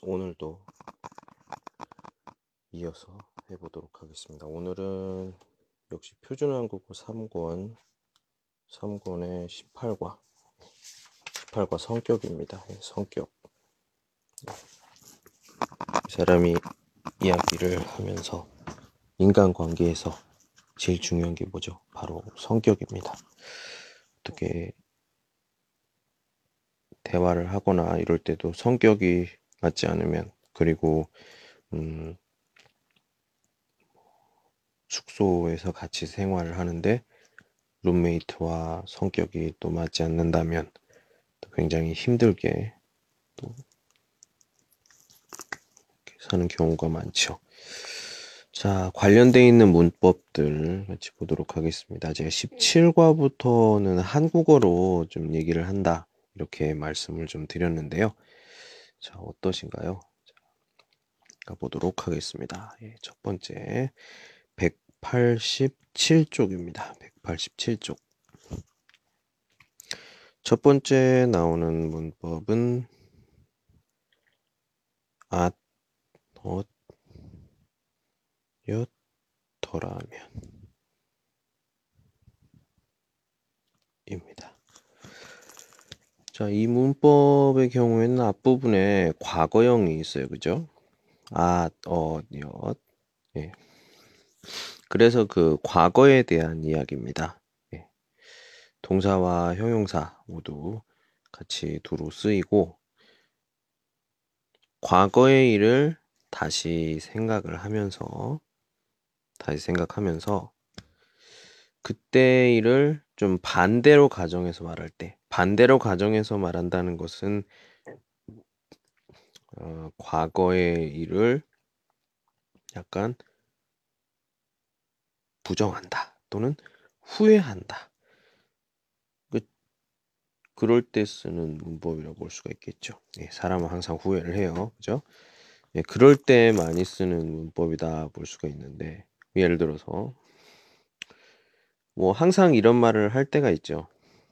오늘도 이어서 해보도록 하겠습니다. 오늘은 역시 표준한국어 3권의 18과 성격입니다. 성격. 사람이 이야기를 하면서 인간관계에서 제일 중요한 게 뭐죠? 바로 성격입니다. 어떻게 대화를 하거나 이럴 때도 성격이 맞지 않으면, 그리고 숙소에서 같이 생활을 하는데 룸메이트와 성격이 또 맞지 않는다면 또 굉장히 힘들게 또 사는 경우가 많죠. 자, 관련되어 있는 문법들 같이 보도록 하겠습니다. 제가 17과부터는 한국어로 좀 얘기를 한다, 이렇게 말씀을 좀 드렸는데요. 자, 어떠신가요? 자, 가보도록 하겠습니다. 첫 번째 187쪽입니다. 187쪽. 첫 번째 나오는 문법은 였더라면 입니다. 자, 이 문법의 경우에는 앞부분에 과거형이 있어요. 그죠? 엿. 예. 그래서 그 과거에 대한 이야기입니다. 예. 동사와 형용사 모두 같이 두루 쓰이고, 과거의 일을 다시 생각하면서 그때 일을 좀 반대로 가정해서 말할 때, 반대로 가정해서 말한다는 것은 과거의 일을 약간 부정한다 또는 후회한다, 그럴 때 쓰는 문법이라고 볼 수가 있겠죠. 사람은 항상 후회를 해요. 그죠? 그럴 때 많이 쓰는 문법이다 볼 수가 있는데, 예를 들어서 뭐 항상 이런 말을 할 때가 있죠.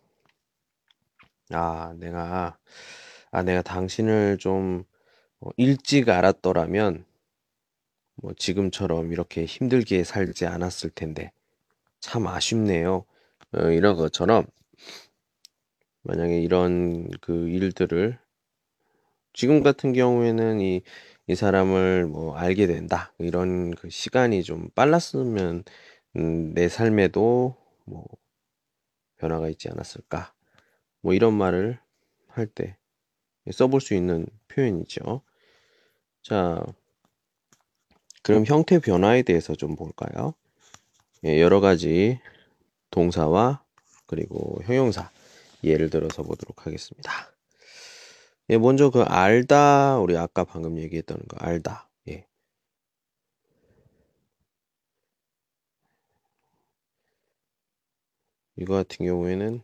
내가 당신을 좀 일찍 알았더라면 뭐 지금처럼 이렇게 힘들게 살지 않았을 텐데 참 아쉽네요. 이런 것처럼, 만약에 이런 그 일들을 지금 같은 경우에는 이 사람을 뭐 알게 된다, 이런 그 시간이 좀 빨랐으면 내 삶에도 뭐 변화가 있지 않았을까, 뭐 이런 말을 할 때 써볼 수 있는 표현이죠. 자, 그럼 형태 변화에 대해서 좀 볼까요? 여러 가지 동사와 그리고 형용사 예를 들어서 보도록 하겠습니다. 먼저 그 알다, 우리 아까 방금 얘기했던 거 알다. 이거 같은 경우에는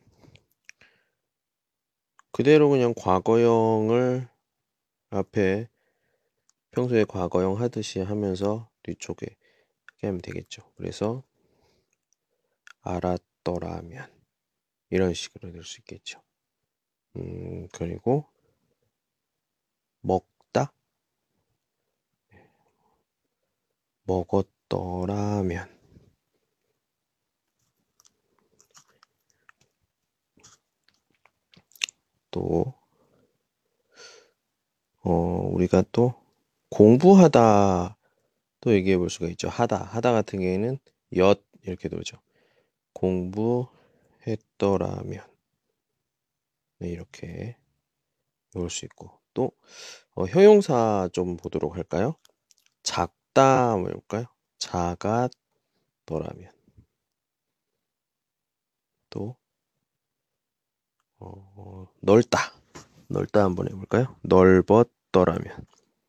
그대로 그냥 과거형을 앞에 평소에 과거형 하듯이 하면서 뒤쪽에 이렇게 하면 되겠죠. 그래서 알았더라면 이런 식으로 될 수 있겠죠. 그리고 먹다, 먹었더라면, 또 우리가 또 공부하다 또 얘기해 볼 수가 있죠. 하다 같은 경우에는 엿 이렇게 돌죠. 공부했더라면, 이렇게 볼 수 있고, 또 형용사 좀 보도록 할까요? 작다 한번 해볼까요? 작았더라면, 또 넓다 한번 해볼까요? 넓었더라면.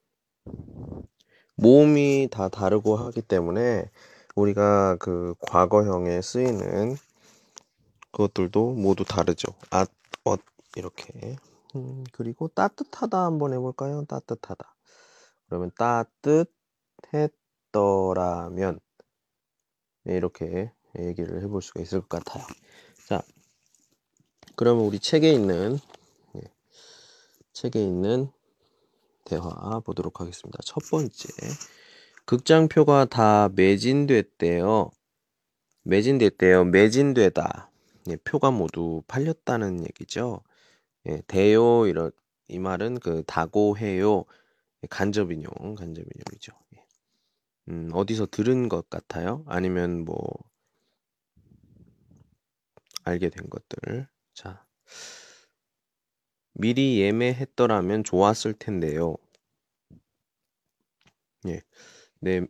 모음이 다 다르고 하기 때문에 우리가 그 과거형에 쓰이는 그것들도 모두 다르죠. 이렇게. 그리고 따뜻하다 한번 해볼까요? 따뜻하다. 그러면 따뜻했더라면, 이렇게 얘기를 해볼 수가 있을 것 같아요. 자, 그러면 우리 책에 있는 대화 보도록 하겠습니다. 첫 번째, 극장표가 다 매진됐대요. 매진되다. 예, 표가 모두 팔렸다는 얘기죠. 예, 대요 이 말은 그 다고해요. 간접인용이죠. 예. 어디서 들은 것 같아요? 아니면 뭐 알게 된 것들. 자, 미리 예매했더라면 좋았을 텐데요. 예, 네,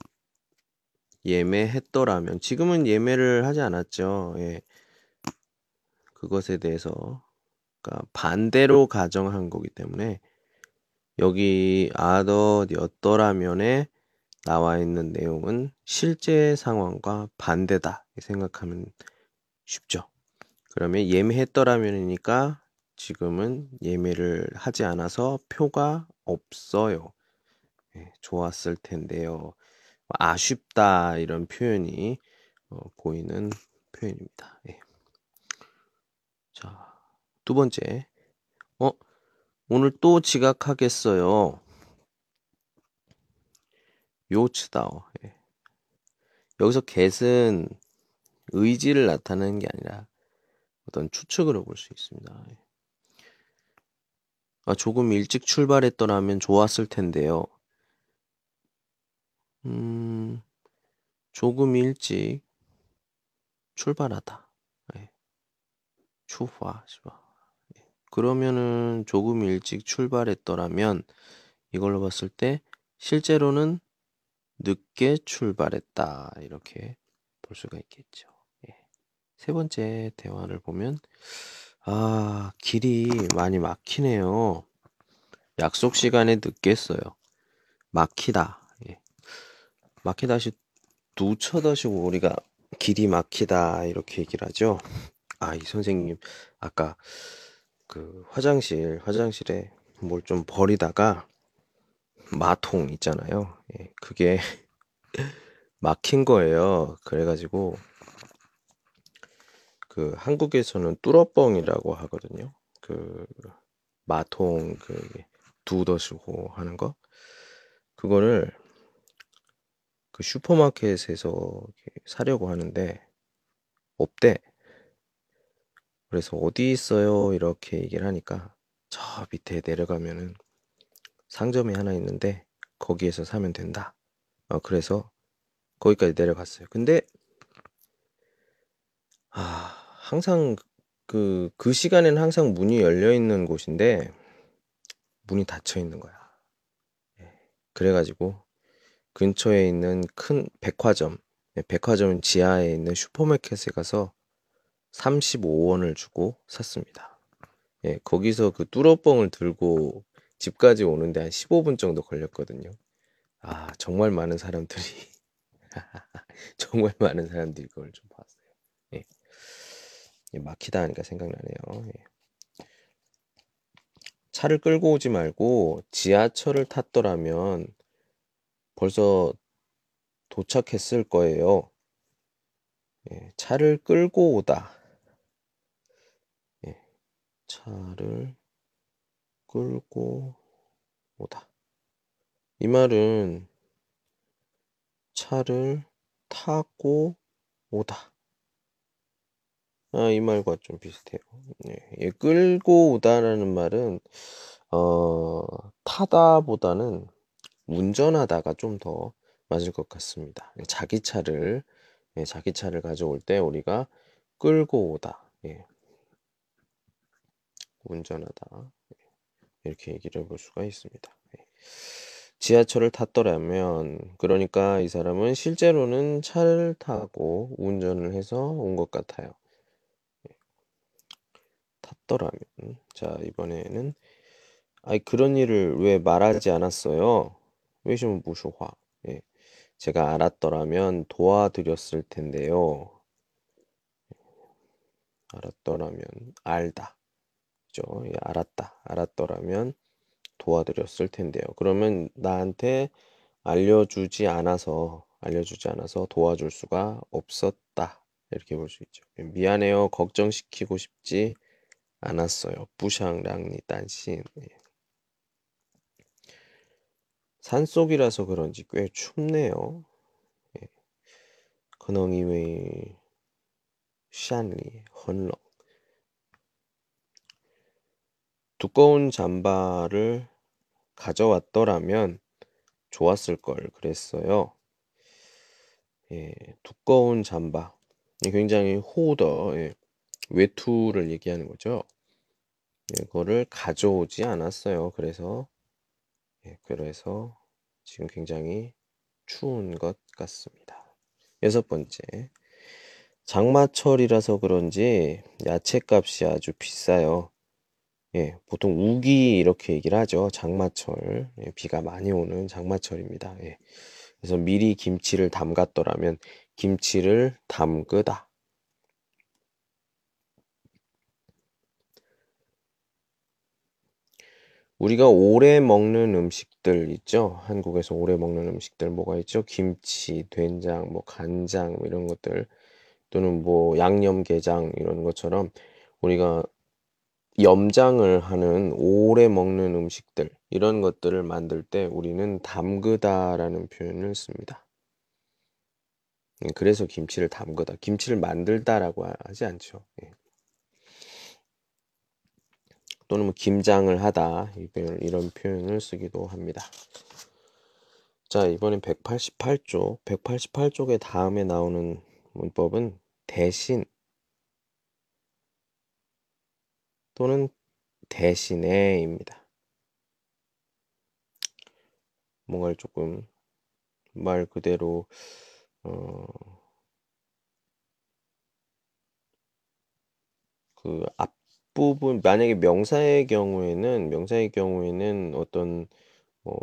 예매했더라면 지금은 예매를 하지 않았죠. 예, 그것에 대해서 그러니까 반대로 가정한 거기 때문에 여기 아더였더라면에 나와 있는 내용은 실제 상황과 반대다 생각하면 쉽죠. 그러면 예매했더라면이니까 지금은 예매를 하지 않아서 표가 없어요. 예, 좋았을 텐데요. 아쉽다 이런 표현이 보이는 표현입니다. 예. 자, 두 번째. 오늘 또 지각하겠어요. 요츠다오. 예. 여기서 get은 의지를 나타내는 게 아니라 어떤 추측으로 볼 수 있습니다. 예. 조금 일찍 출발했더라면 좋았을 텐데요. 조금 일찍 출발하다. 예. 추화. 예. 그러면은 조금 일찍 출발했더라면 이걸로 봤을 때 실제로는 늦게 출발했다. 이렇게 볼 수가 있겠죠. 예. 세 번째 대화를 보면 길이 많이 막히네요. 약속 시간에 늦겠어요. 막히다. 예. 막히다시 누쳐다시고 우리가 길이 막히다 이렇게 얘기를 하죠. 이 선생님 아까 그 화장실에 뭘 좀 버리다가 마통 있잖아요. 예, 그게 막힌 거예요. 그래가지고 그 한국에서는 뚫어뻥이라고 하거든요. 그 마통 두더시고 하는 거 그거를 그 슈퍼마켓에서 사려고 하는데 없대. 그래서 어디 있어요? 이렇게 얘기를 하니까 저 밑에 내려가면은 상점이 하나 있는데 거기에서 사면 된다. 그래서 거기까지 내려갔어요. 근데 항상 그 시간에는 항상 문이 열려 있는 곳인데 문이 닫혀 있는 거야. 예. 그래가지고 근처에 있는 큰 백화점 지하에 있는 슈퍼마켓에 가서 35원을 주고 샀습니다. 예, 거기서 그 뚫어뻥을 들고 집까지 오는데 한 15분 정도 걸렸거든요. 정말 많은 사람들이 정말 많은 사람들이 그걸 좀 봤어요. 예. 막히다 하니까 생각나네요. 예. 차를 끌고 오지 말고 지하철을 탔더라면 벌써 도착했을 거예요. 예, 차를 끌고 오다. 예, 차를 끌고 오다. 이 말은 차를 타고 오다. 이 말과 좀 비슷해요. 예, 끌고 오다라는 말은 타다보다는 운전하다가 좀 더 맞을 것 같습니다. 자기 차를 가져올 때 우리가 끌고 오다, 운전하다 이렇게 얘기를 해볼 수가 있습니다. 지하철을 탔더라면 그러니까 이 사람은 실제로는 차를 타고 운전을 해서 온 것 같아요. 탔더라면 자 이번에는 그런 일을 왜 말하지 않았어요? 왜좀 무쇼화? 예, 제가 알았더라면 도와드렸을 텐데요. 알았더라면 알다. 그죠? 예, 알았더라면 도와드렸을 텐데요. 그러면 나한테 알려주지 않아서 도와줄 수가 없었다. 이렇게 볼 수 있죠. 미안해요. 걱정시키고 싶지 않았어요. 부샹랑니 딴신. 산속이라서 그런지 꽤 춥네요. 예. 可能因为山里很冷 두꺼운 잠바를 가져왔더라면 좋았을 걸 그랬어요. 예, 두꺼운 잠바. 굉장히 호더, 예, 외투를 얘기하는 거죠. 예, 그거를 가져오지 않았어요. 그래서 지금 굉장히 추운 것 같습니다. 6번째. 장마철이라서 그런지 야채값이 아주 비싸요. 예, 보통 우기 이렇게 얘기를 하죠. 장마철. 예, 비가 많이 오는 장마철입니다. 예. 그래서 미리 김치를 담갔더라면 김치를 담그다. 우리가 오래 먹는 음식들 있죠? 한국에서 오래 먹는 음식들 뭐가 있죠? 김치, 된장, 뭐 간장 뭐 이런 것들 또는 뭐 양념게장 이런 것처럼 우리가 염장을 하는 오래 먹는 음식들 이런 것들을 만들 때 우리는 담그다라는 표현을 씁니다. 그래서 김치를 담그다, 김치를 만들다라고 하지 않죠. 예. 또는 뭐 김장을 하다 이런 표현을 쓰기도 합니다. 자, 이번엔 188쪽. 188쪽의 다음에 나오는 문법은 대신 또는 대신에입니다. 뭔가를 조금 말 그대로 그 앞부분 만약에 명사의 경우에는 어떤 뭐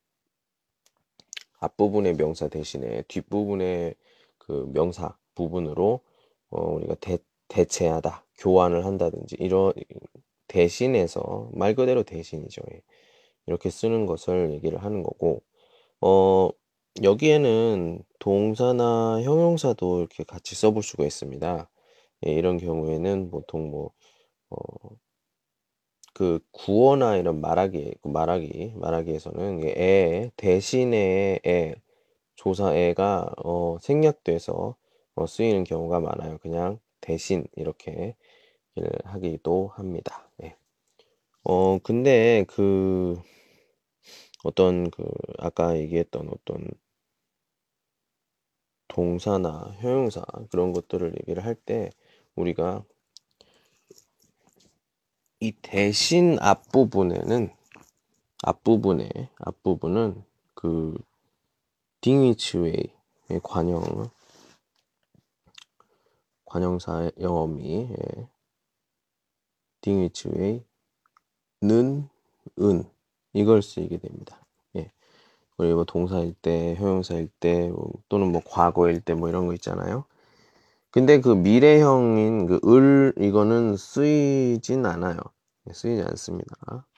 앞부분의 명사 대신에 뒷부분의 그 명사 부분으로 우리가 대체하다, 교환을 한다든지 이런 대신해서 말 그대로 대신이죠. 예. 이렇게 쓰는 것을 얘기를 하는 거고 여기에는 동사나 형용사도 이렇게 같이 써볼 수가 있습니다. 예, 이런 경우에는 보통 뭐 그 구어나 이런 말하기에서는 대신에 조사에가 생략돼서 쓰이는 경우가 많아요. 그냥 대신 이렇게 하기도 합니다. 예. 근데 그 어떤 그 아까 얘기했던 어떤 동사나 형용사 그런 것들을 얘기를 할 때 우리가 이 대신 앞부분은 그 딩위츠웨이의 관형사 영어미 딩위츠웨이는 은 이걸 쓰이게 됩니다. 예. 그리고 동사일 때, 형용사일 때 또는 뭐 과거일 때 뭐 이런 거 있잖아요. 근데 그 미래형인 그 이거는 쓰이진 않아요. 쓰이지 않습니다.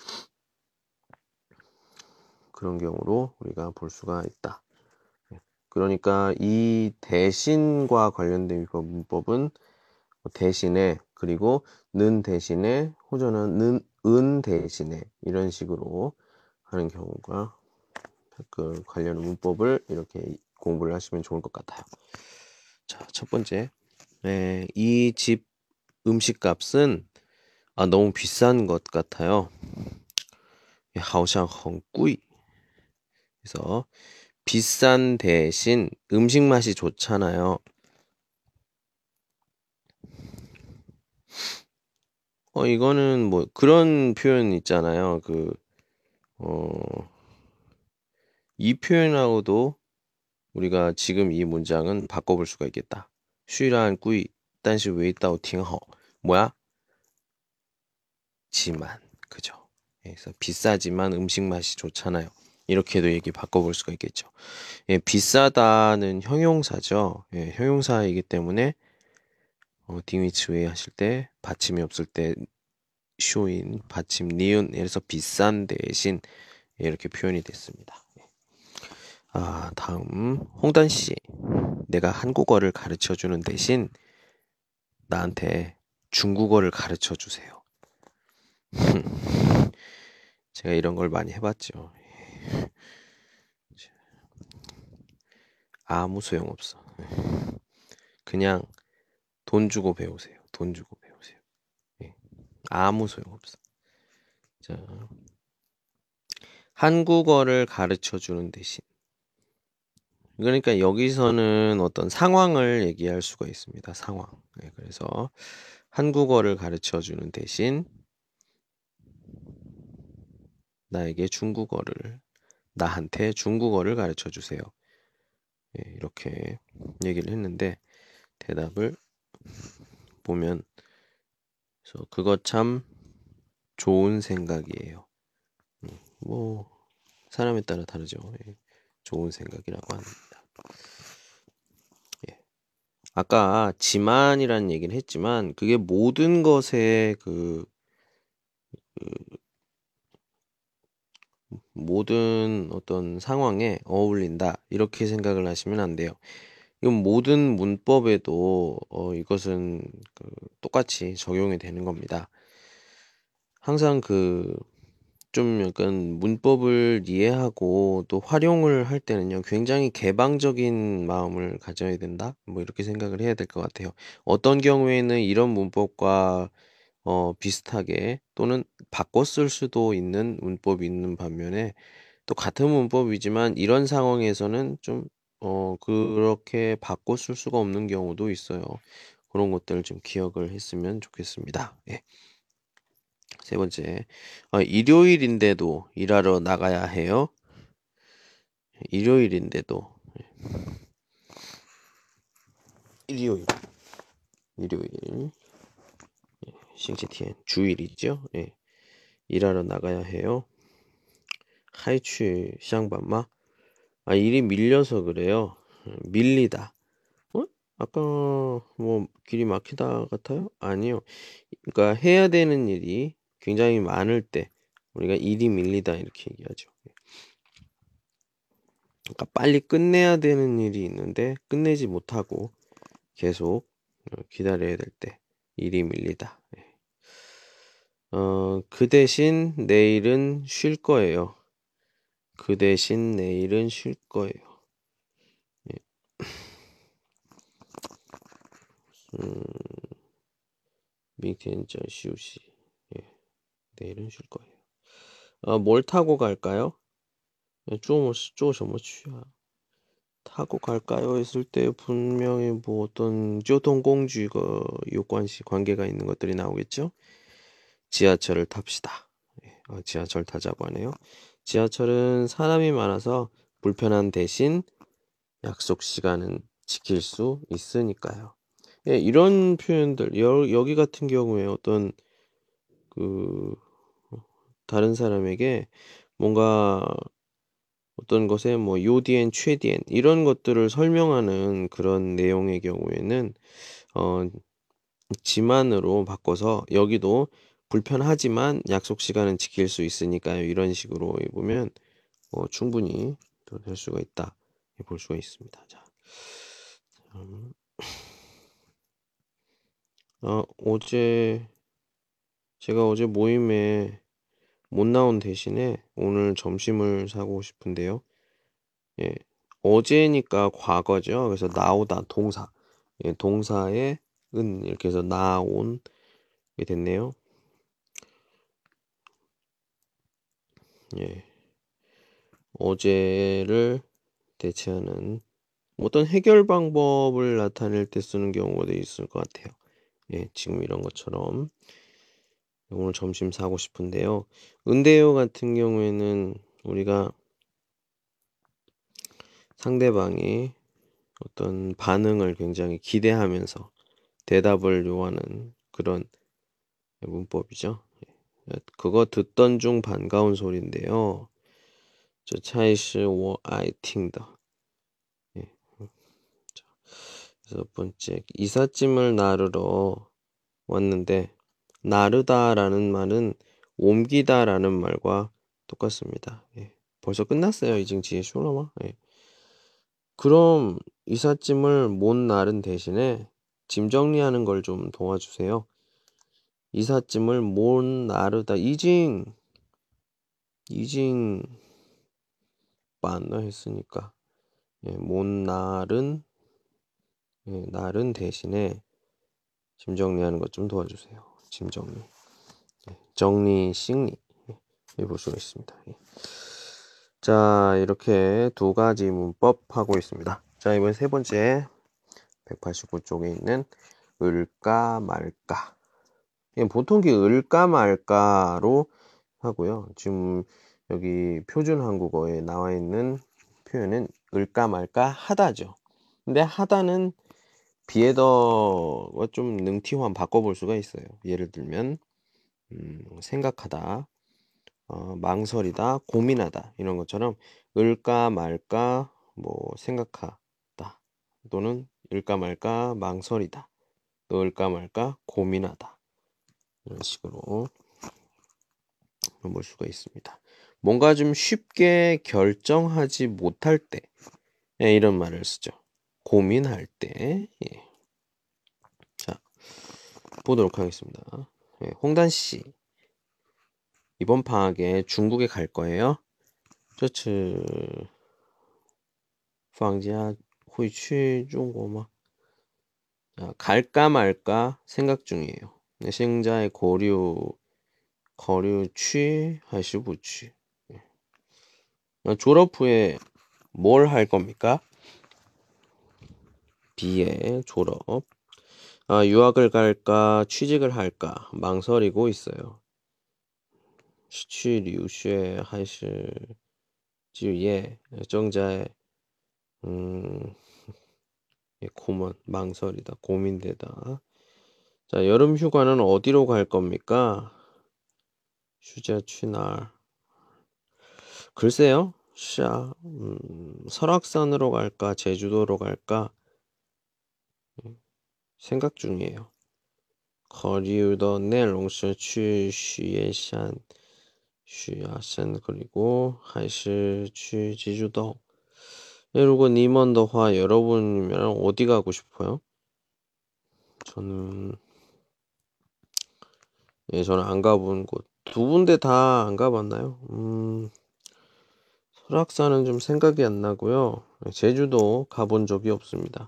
그런 경우로 우리가 볼 수가 있다. 그러니까 이 대신과 관련된 문법은 대신에 그리고 는 대신에 호전은 은 대신에 이런 식으로 하는 경우가 그 관련 문법을 이렇게 공부를 하시면 좋을 것 같아요. 자, 첫 번째. 이 집 음식값은 너무 비싼 것 같아요. 好像很贵. 그래서 비싼 대신 음식 맛이 좋잖아요. 이거는 뭐 그런 표현 있잖아요. 이 표현하고도 우리가 지금 이 문장은 바꿔볼 수가 있겠다. 虽然贵但是味道挺好. 뭐야? 지만. 그죠? 그래서 비싸지만 음식 맛이 좋잖아요. 이렇게도 얘기 바꿔볼 수가 있겠죠. 예, 비싸다는 형용사죠. 예, 형용사이기 때문에 딩위츠웨이 하실 때 받침이 없을 때 쇼인 받침 니은 그래서 비싼 대신 이렇게 표현이 됐습니다. 다음 홍단 씨, 내가 한국어를 가르쳐 주는 대신 나한테 중국어를 가르쳐 주세요. 제가 이런 걸 많이 해봤죠. 아무 소용없어. 그냥 돈 주고 배우세요. 돈 주고 배우세요. 예. 아무 소용없어. 자, 한국어를 가르쳐 주는 대신. 그러니까 여기서는 어떤 상황을 얘기할 수가 있습니다. 상황. 네, 그래서 한국어를 가르쳐 주는 대신 나한테 중국어를 가르쳐 주세요. 네, 이렇게 얘기를 했는데 대답을 보면 그래서 그거 참 좋은 생각이에요. 뭐 사람에 따라 다르죠. 예, 좋은 생각이라고 합니다. 예. 아까 지만이라는 얘기를 했지만 그게 모든 것에 모든 어떤 상황에 어울린다 이렇게 생각을 하시면 안 돼요. 이건 모든 문법에도 이것은 똑같이 적용이 되는 겁니다. 항상 좀 약간 문법을 이해하고 또 활용을 할 때는요, 굉장히 개방적인 마음을 가져야 된다? 뭐 이렇게 생각을 해야 될 것 같아요. 어떤 경우에는 이런 문법과 비슷하게 또는 바꿔 쓸 수도 있는 문법이 있는 반면에 또 같은 문법이지만 이런 상황에서는 좀 그렇게 바꿔 쓸 수가 없는 경우도 있어요. 그런 것들을 좀 기억을 했으면 좋겠습니다. 예. 세 번째, 일요일인데도 일하러 나가야 해요. 일요일인데도 일요일, 일요일, 싱치티엔 주일이죠. 예. 일하러 나가야 해요. 하이취 샹반마. 일이 밀려서 그래요. 밀리다. 아까 뭐 길이 막히다 같아요? 아니요. 그러니까 해야 되는 일이 굉장히 많을 때 우리가 일이 밀리다 이렇게 얘기하죠. 그러니까 빨리 끝내야 되는 일이 있는데 끝내지 못하고 계속 기다려야 될 때 일이 밀리다. 그 대신 내일은 쉴 거예요. 그 대신 내일은 쉴 거예요. 예.明天전 쉬우시. 예. 내일은 쉴 거예요. 뭘 타고 갈까요? 坐什么去啊? 타고 갈까요? 했을 때 분명히 뭐 어떤 교통공주가 관계가 있는 것들이 나오겠죠? 지하철을 탑시다. 지하철 타자고 하네요. 지하철은 사람이 많아서 불편한 대신 약속 시간은 지킬 수 있으니까요. 예, 이런 표현들 여기 같은 경우에 어떤 다른 사람에게 뭔가 어떤 것에 뭐 요디엔 최디엔 이런 것들을 설명하는 그런 내용의 경우에는 어 지만으로 바꿔서 여기도 불편하지만 약속 시간은 지킬 수 있으니까요. 이런 식으로 보면 충분히 또 될 수가 있다. 볼 수가 있습니다. 자, 제가 어제 모임에 못 나온 대신에 오늘 점심을 사고 싶은데요. 예, 어제니까 과거죠. 그래서 나오다 동사. 예, 동사에 은 이렇게 해서 나온 게 됐네요. 예. 어제를 대체하는 어떤 해결 방법을 나타낼 때 쓰는 경우가 있을 것 같아요. 예, 지금 이런 것처럼 오늘 점심 사고 싶은데요. 은대요 같은 경우에는 우리가 상대방이 어떤 반응을 굉장히 기대하면서 대답을 요하는 그런 문법이죠. 그거 듣던 중 반가운 소리인데요. 저 차이시 워 아이 팅더. 예. 여섯 번째, 이삿짐을 나르러 왔는데 나르다라는 말은 옮기다라는 말과 똑같습니다. 예. 벌써 끝났어요. 이징지의 쇼라마. 예. 그럼 이삿짐을 못 나른 대신에 짐 정리하는 걸 좀 도와주세요. 이삿짐을 못 나르다. 이징 못반너 했으니까 못 날은 날은 대신에 짐 정리하는 것 좀 도와주세요. 짐 정리. 정리 싱리 해볼 수가 있습니다. 자, 이렇게 두 가지 문법 하고 있습니다. 자, 이번 세 번째 189쪽에 있는 을까 말까. 보통 을까 말까로 하고요. 지금 여기 표준 한국어에 나와 있는 표현은 을까 말까 하다죠. 근데 하다는 비에더와 좀 능티화 바꿔볼 수가 있어요. 예를 들면 생각하다, 망설이다, 고민하다 이런 것처럼 을까 말까 뭐 생각하다 또는 을까 말까 망설이다, 또 을까 말까 고민하다 이런 식으로 볼 수가 있습니다. 뭔가 좀 쉽게 결정하지 못할 때 이런 말을 쓰죠. 고민할 때. 자, 보도록 하겠습니다. 홍단 씨 이번 방학에 중국에 갈 거예요? 这次放假会去中国吗? 자, 갈까 말까 생각 중이에요.现在考虑去还是不去? 졸업 후에 뭘 할 겁니까? B의 졸업. 유학을 갈까 취직을 할까 망설이고 있어요. 去留学还是就业正在망설이다 고민되다. 자, 여름 휴가는 어디로 갈 겁니까? 휴자 취날. 글쎄요. 설악산으로 갈까 제주도로 갈까 생각 중이에요. 考虑的内容是去许愿山 许亚山 그리고 还是去济州岛. 如果你们的话 여러분이면 어디 가고 싶어요? 저는 안 가본 곳. 두 군데 다 안 가봤나요? 설악산은 좀 생각이 안 나고요. 제주도 가본 적이 없습니다.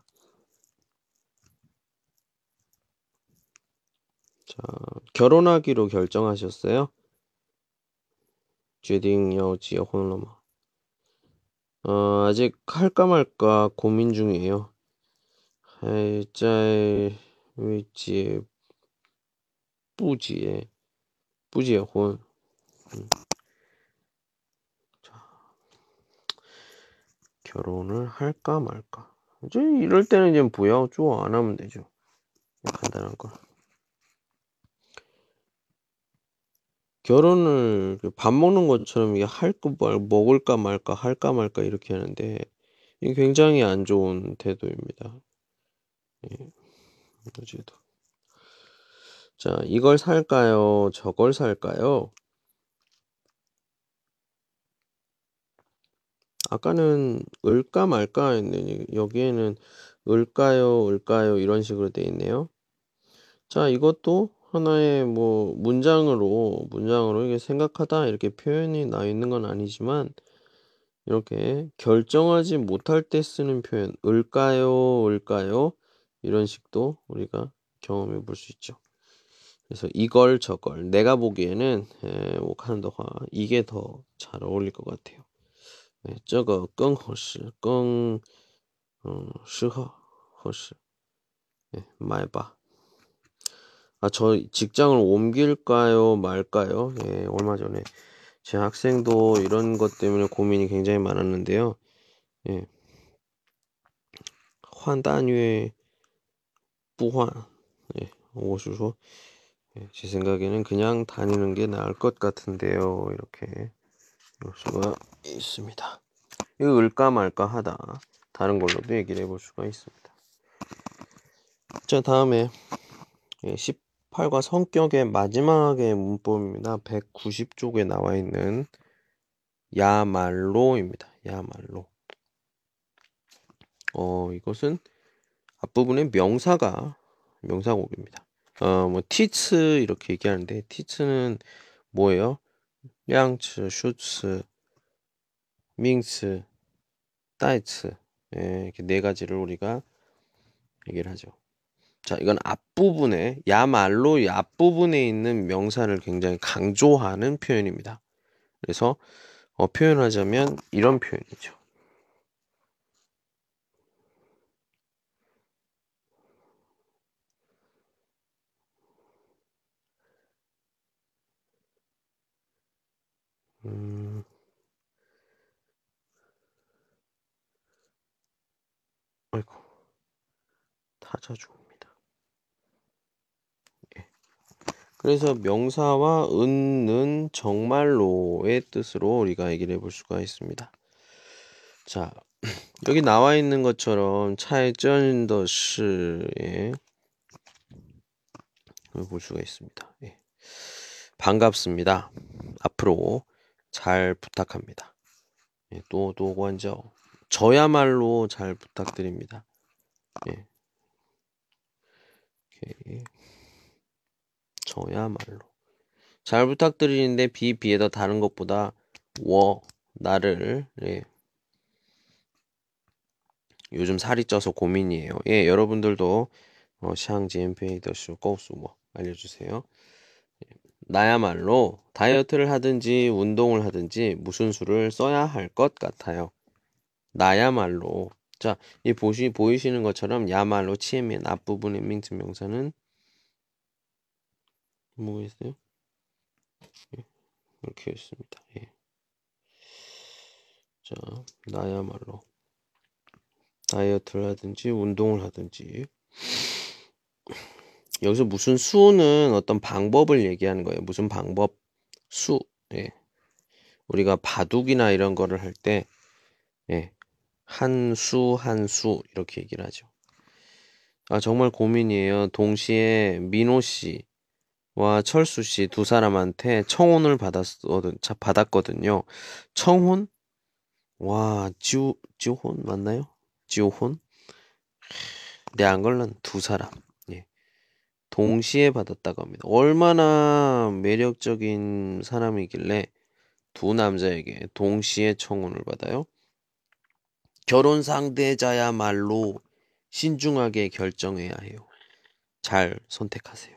자, 결혼하기로 결정하셨어요? 决定要结婚了吗? 아직 할까 말까 고민 중이에요. 还在为不结婚. 자, 결혼을 할까 말까. 이제 이럴 때는 이제 부야오 쪼 안 하면 되죠. 간단한 거. 결혼을 밥 먹는 것처럼 이게 먹을까 말까 할까 말까 이렇게 하는데 이게 굉장히 안 좋은 태도입니다. 어제도. 자, 이걸 살까요? 저걸 살까요? 아까는 을까 말까 했는데 여기에는 을까요 이런 식으로 돼 있네요. 자, 이것도 하나의 뭐 문장으로 이게 생각하다 이렇게 표현이 나 있는 건 아니지만 이렇게 결정하지 못할 때 쓰는 표현 을까요 이런 식도 우리가 경험해 볼 수 있죠. 그래서 이걸 저걸 내가 보기에는 오카는더화 이게 더 잘 어울릴 것 같아요. 这个更合适更适合合适 买吧. 저 직장을 옮길까요 말까요? 얼마 전에 제 학생도 이런 것 때문에 고민이 굉장히 많았는데요. 换单位不换. 我是说 제 생각에는 그냥 다니는 게 나을 것 같은데요. 이렇게 볼 수가 있습니다. 이거 을까 말까 하다. 다른 걸로도 얘기를 해볼 수가 있습니다. 자, 다음에 18과 성격의 마지막의 문법입니다. 190쪽에 나와 있는 야말로입니다. 야말로. 이것은 앞부분에 명사곡입니다. 뭐 티츠 이렇게 얘기하는데 티츠는 뭐예요? 량츠, 슈츠, 밍츠 따이츠. 예, 이렇게 네 가지를 우리가 얘기를 하죠. 자, 이건 앞부분에, 야말로 이 앞부분에 있는 명사를 굉장히 강조하는 표현입니다. 그래서 표현하자면 이런 표현이죠. 음, 아이고, 타자주어입니다. 예. 그래서 명사와 는 정말로의 뜻으로 우리가 얘기를 해볼 수가 있습니다. 자, 여기 나와 있는 것처럼 차이전더시에 볼 수가 있습니다. 예. 반갑습니다. 앞으로 잘 부탁합니다. 예, 또 관저 저야말로 잘 부탁드립니다. 예. 오케이. 저야말로 잘 부탁드리는데 비에다 다른 것보다 나를 예. 요즘 살이 쪄서 고민이에요. 예, 여러분들도 샹지엔페이더슈 꼬수 알려주세요. 나야말로 다이어트를 하든지 운동을 하든지 무슨 수를 써야 할 것 같아요. 나야말로 자, 이 보이시는 것처럼 야말로 치에면 앞부분의 명사는 뭐겠어요? 예, 이렇게 있습니다. 예. 자, 나야말로 다이어트를 하든지 운동을 하든지 여기서 무슨 수는 어떤 방법을 얘기하는 거예요. 무슨 방법? 수. 예. 우리가 바둑이나 이런 거를 할 때 예. 한 수 이렇게 얘기를 하죠. 아, 정말 고민이에요. 동시에 민호 씨와 철수 씨 두 사람한테 청혼을 받았거든요. 청혼? 와, 지혼 맞나요? 지혼? 네, 걸른 두 사람. 예. 동시에 받았다고 합니다. 얼마나 매력적인 사람이길래 두 남자에게 동시에 청혼을 받아요? 결혼 상대자야말로 신중하게 결정해야 해요. 잘 선택하세요.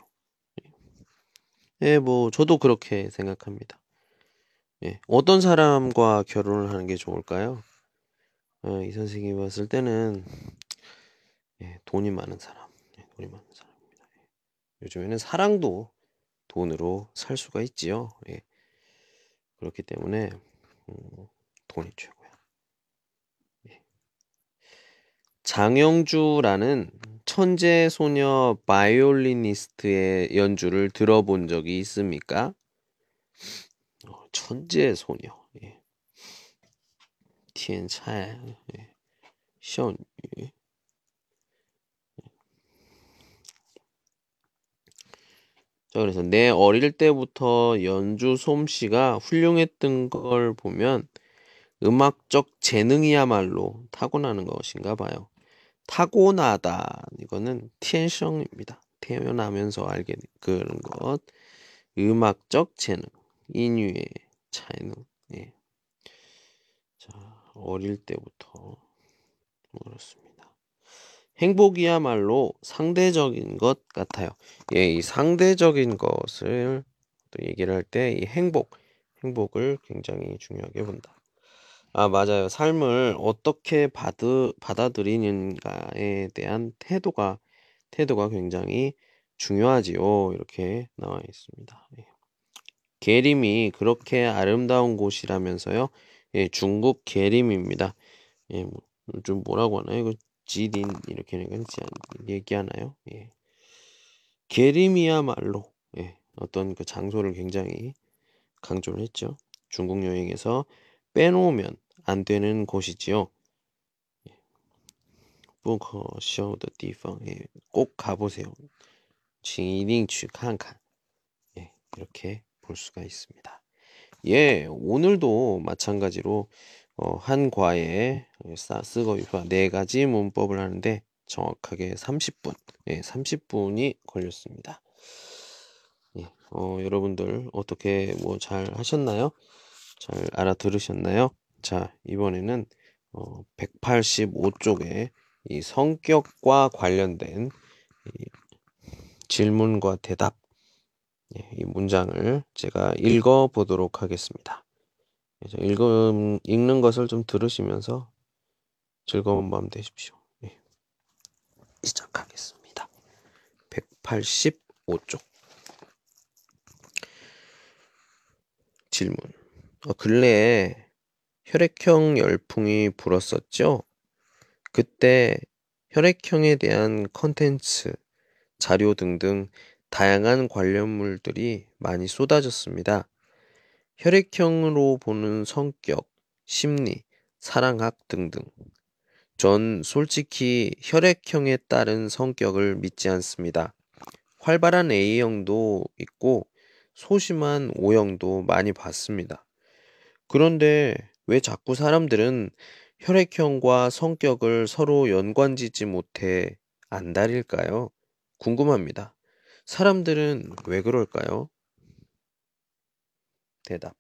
예, 저도 그렇게 생각합니다. 예, 어떤 사람과 결혼을 하는 게 좋을까요? 이 선생님이 봤을 때는 예, 돈이 많은 사람. 예, 돈이 많은 사람입니다. 예. 요즘에는 사랑도 돈으로 살 수가 있지요. 예. 그렇기 때문에 돈이 최고야. 예. 장영주라는 천재 소녀 바이올리니스트의 연주를 들어본 적이 있습니까? 천재 소녀. 예. 天才. 예. 少女. 자, 그래서 내 어릴 때부터 연주 솜씨가 훌륭했던 걸 보면 음악적 재능이야말로 타고나는 것인가 봐요. 타고나다. 이거는 天生입니다. 태어나면서 알게 된 그런 것. 음악적 재능. 인유의 재능. 예. 자, 어릴 때부터 그렇습니다. 행복이야말로 상대적인 것 같아요. 예, 이 상대적인 것을 또 얘기를 할 때 이 행복을 굉장히 중요하게 본다. 아, 맞아요. 삶을 어떻게 받아들이는가에 대한 태도가 굉장히 중요하지요. 이렇게 나와 있습니다. 예. 계림이 그렇게 아름다운 곳이라면서요. 예, 중국 계림입니다. 예, 좀 뭐라고 하나요? 이거 지린 이렇게 얘기하나요? 예. 계림이야말로 예, 어떤 그 장소를 굉장히 강조를 했죠. 중국 여행에서 빼놓으면 안 되는 곳이지요. 不可쇼的地方 예, 꼭 가보세요. 请一定去看看 예, 이렇게 볼 수가 있습니다. 예, 오늘도 마찬가지로 한 과에 쓰고 유파 네 가지 문법을 하는데 정확하게 30분, 예, 30분이 걸렸습니다. 예, 여러분들 어떻게 잘 하셨나요? 잘 알아들으셨나요? 자, 이번에는 185쪽에 이 성격과 관련된 이 질문과 대답, 이 문장을 제가 읽어 보도록 하겠습니다. 그래서 읽는 것을 좀 들으시면서 즐거운 밤 되십시오. 시작하겠습니다. 185쪽 질문. 근래에 혈액형 열풍이 불었었죠? 그때 혈액형에 대한 컨텐츠, 자료 등등 다양한 관련물들이 많이 쏟아졌습니다. 혈액형으로 보는 성격, 심리, 사랑학 등등. 전 솔직히 혈액형에 따른 성격을 믿지 않습니다. 활발한 A형도 있고 소심한 O형도 많이 봤습니다. 그런데 왜 자꾸 사람들은 혈액형과 성격을 서로 연관짓지 못해 안달일까요? 궁금합니다. 사람들은 왜 그럴까요? 대답.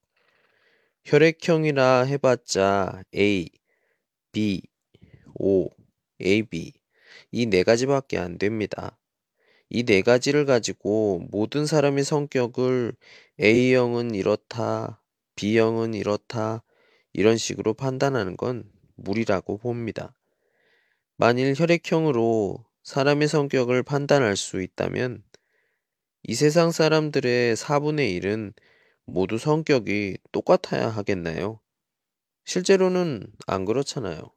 혈액형이라 해봤자 A, B, O, AB 이 네 가지밖에 안 됩니다. 이 네 가지를 가지고 모든 사람의 성격을 A형은 이렇다, B형은 이렇다, 이런 식으로 판단하는 건 무리라고 봅니다. 만일 혈액형으로 사람의 성격을 판단할 수 있다면 이 세상 사람들의 4분의 1은 모두 성격이 똑같아야 하겠나요? 실제로는 안 그렇잖아요.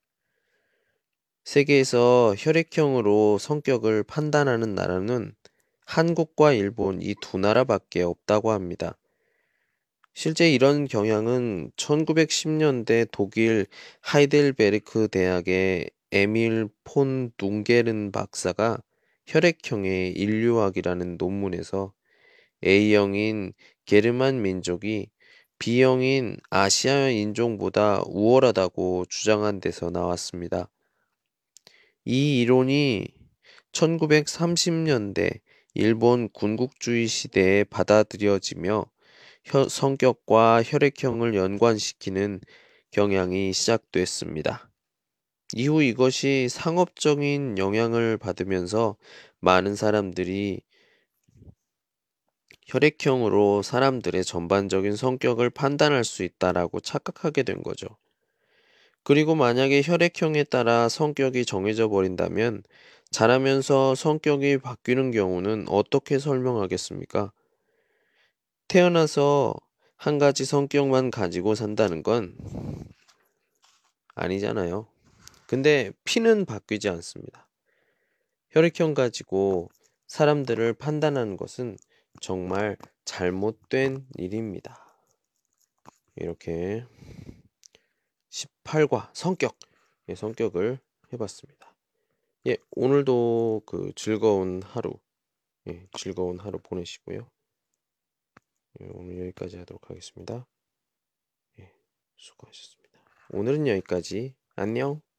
세계에서 혈액형으로 성격을 판단하는 나라는 한국과 일본 이 두 나라밖에 없다고 합니다. 실제 이런 경향은 1910년대 독일 하이델베르크 대학의 에밀 폰 둥게른 박사가 혈액형의 인류학이라는 논문에서 A형인 게르만 민족이 B형인 아시아 인종보다 우월하다고 주장한 데서 나왔습니다. 이 이론이 1930년대 일본 군국주의 시대에 받아들여지며 성격과 혈액형을 연관시키는 경향이 시작됐습니다. 이후 이것이 상업적인 영향을 받으면서 많은 사람들이 혈액형으로 사람들의 전반적인 성격을 판단할 수 있다라고 착각하게 된 거죠. 그리고 만약에 혈액형에 따라 성격이 정해져 버린다면 자라면서 성격이 바뀌는 경우는 어떻게 설명하겠습니까? 태어나서 한 가지 성격만 가지고 산다는 건 아니잖아요. 근데 피는 바뀌지 않습니다. 혈액형 가지고 사람들을 판단하는 것은 정말 잘못된 일입니다. 이렇게 18과 성격, 성격을 해봤습니다. 오늘도 즐거운 하루 보내시고요. 오늘 여기까지 하도록 하겠습니다. 수고하셨습니다. 오늘은 여기까지. 안녕.